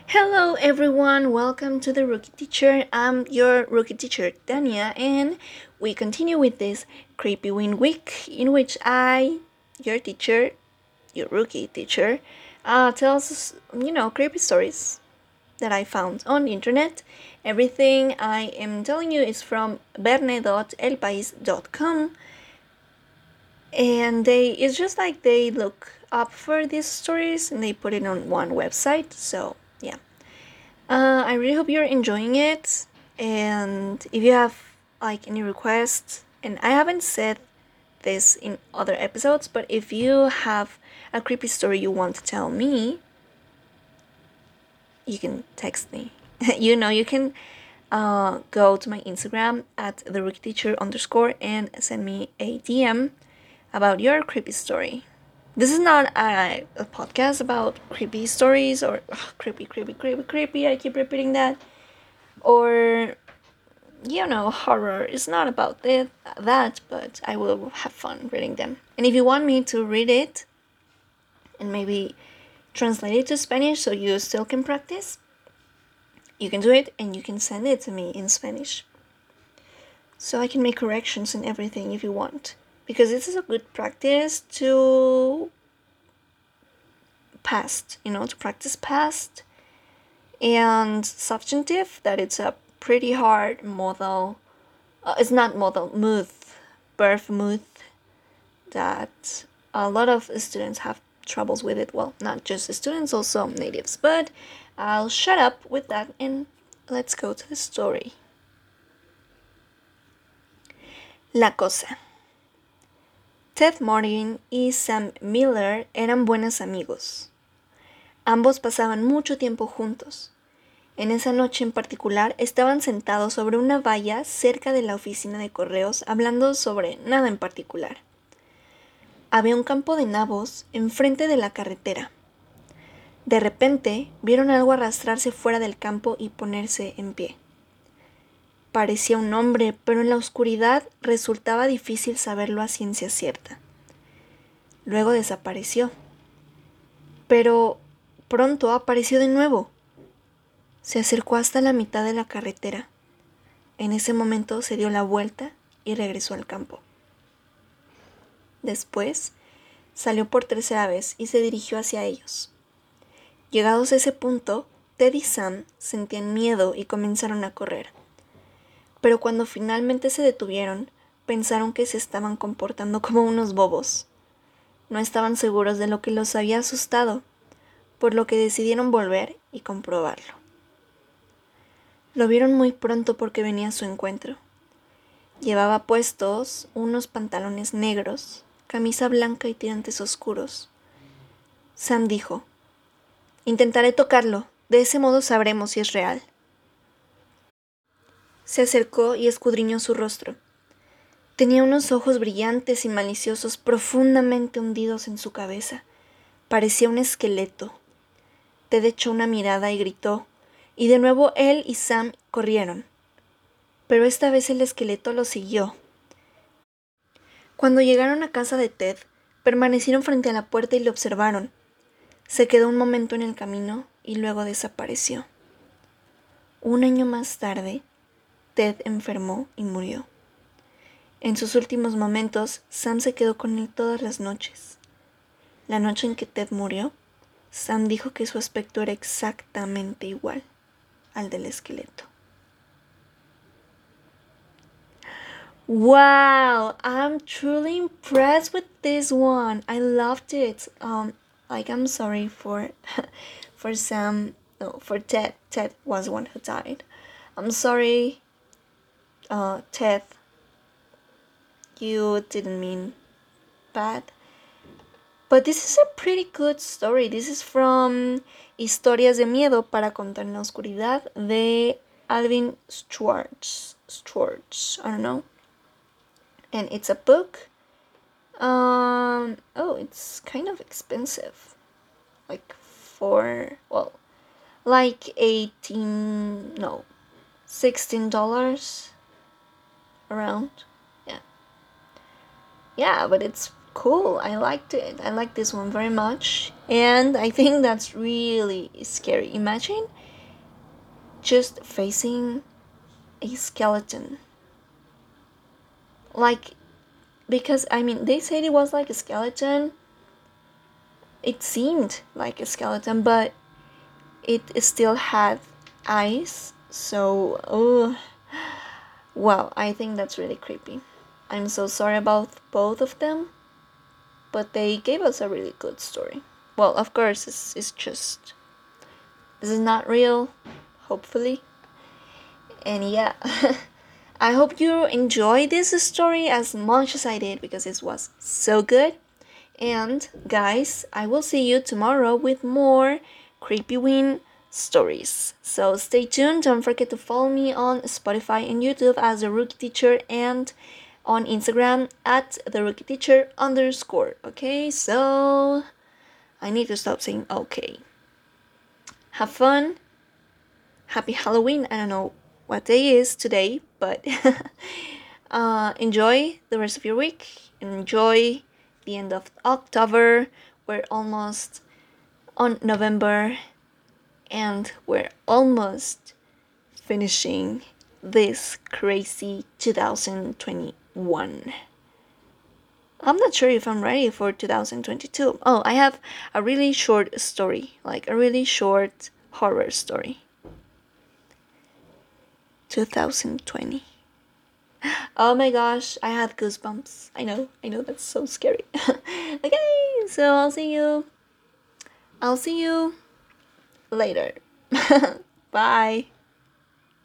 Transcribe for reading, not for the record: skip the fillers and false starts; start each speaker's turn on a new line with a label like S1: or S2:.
S1: Hello everyone, welcome to the Rookie Teacher. I'm your Rookie Teacher, Dania, and we continue with this Creepy Win Week in which your teacher, your Rookie Teacher, tells us, creepy stories that I found on the internet. Everything I am telling you is from verne.elpais.com, and it's just like they look up for these stories and they put it on one website, so yeah. I really hope you're enjoying it. And if you have like any requests, and I haven't said this in other episodes, but if you have a creepy story you want to tell me, you can text me. You can go to my Instagram at the rookie teacher underscore and send me a DM about your creepy story. This is not a podcast about creepy stories or creepy. I keep repeating that. Or horror is not about that, but I will have fun reading them. And if you want me to read it and maybe translate it to Spanish so you still can practice, you can do it and you can send it to me in Spanish. So I can make corrections and everything if you want. Because this is a good practice to to practice past and substantive, that it's a pretty hard modal. It's not model, mood, birth mood, that a lot of students have troubles with it. Well, not just the students, also natives. But I'll shut up with that and let's go to the story. La cosa. Ted Martin y Sam Miller eran buenos amigos. Ambos pasaban mucho tiempo juntos. En esa noche en particular estaban sentados sobre una valla cerca de la oficina de correos hablando sobre nada en particular. Había un campo de nabos enfrente de la carretera. De repente vieron algo arrastrarse fuera del campo y ponerse en pie. Parecía un hombre, pero en la oscuridad resultaba difícil saberlo a ciencia cierta. Luego desapareció. Pero pronto apareció de nuevo. Se acercó hasta la mitad de la carretera. En ese momento se dio la vuelta y regresó al campo. Después, salió por tercera vez y se dirigió hacia ellos. Llegados a ese punto, Ted y Sam sentían miedo y comenzaron a correr. Pero cuando finalmente se detuvieron, pensaron que se estaban comportando como unos bobos. No estaban seguros de lo que los había asustado, por lo que decidieron volver y comprobarlo. Lo vieron muy pronto porque venía a su encuentro. Llevaba puestos unos pantalones negros, camisa blanca y tirantes oscuros. Sam dijo: «Intentaré tocarlo, de ese modo sabremos si es real». Se acercó y escudriñó su rostro. Tenía unos ojos brillantes y maliciosos profundamente hundidos en su cabeza. Parecía un esqueleto. Ted echó una mirada y gritó, y de nuevo él y Sam corrieron. Pero esta vez el esqueleto lo siguió. Cuando llegaron a casa de Ted, permanecieron frente a la puerta y le observaron. Se quedó un momento en el camino y luego desapareció. Un año más tarde, Ted enfermó y murió. En sus últimos momentos, Sam se quedó con él todas las noches. La noche en que Ted murió, Sam dijo que su aspecto era exactamente igual al del esqueleto. Wow, I'm truly impressed with this one. I loved it. I'm sorry for for Sam. No, for Ted. Ted was the one who died. I'm sorry, Ted. You didn't mean bad. But this is a pretty good story. This is from Historias de Miedo para contar en la oscuridad de Alvin Schwartz. I don't know. And it's a book. It's kind of expensive. Like $16 around. Yeah. Yeah, but it's cool. I liked it. I like this one very much. And I think that's really scary. Imagine just facing a skeleton. Like, because, I mean, they said it was like a skeleton. It seemed like a skeleton, but it still had eyes. So, oh, well, I think that's really creepy. I'm so sorry about both of them, but they gave us a really good story. Well, of course, it's just, this is not real, hopefully. And yeah, I hope you enjoyed this story as much as I did because it was so good. And guys, I will see you tomorrow with more Creepyween stories. So stay tuned. Don't forget to follow me on Spotify and YouTube as the Rookie Teacher and on Instagram at the Rookie Teacher _. Okay, so I need to stop saying okay. Have fun. Happy Halloween. I don't know what day is today, but enjoy the rest of your week. Enjoy the end of October. We're almost on November, and we're almost finishing this crazy 2021. I'm not sure if I'm ready for 2022. Oh, I have a really short story, like a really short horror story. 2020. Oh my gosh, I have goosebumps. I know, that's so scary. Okay, so I'll see you later. Bye.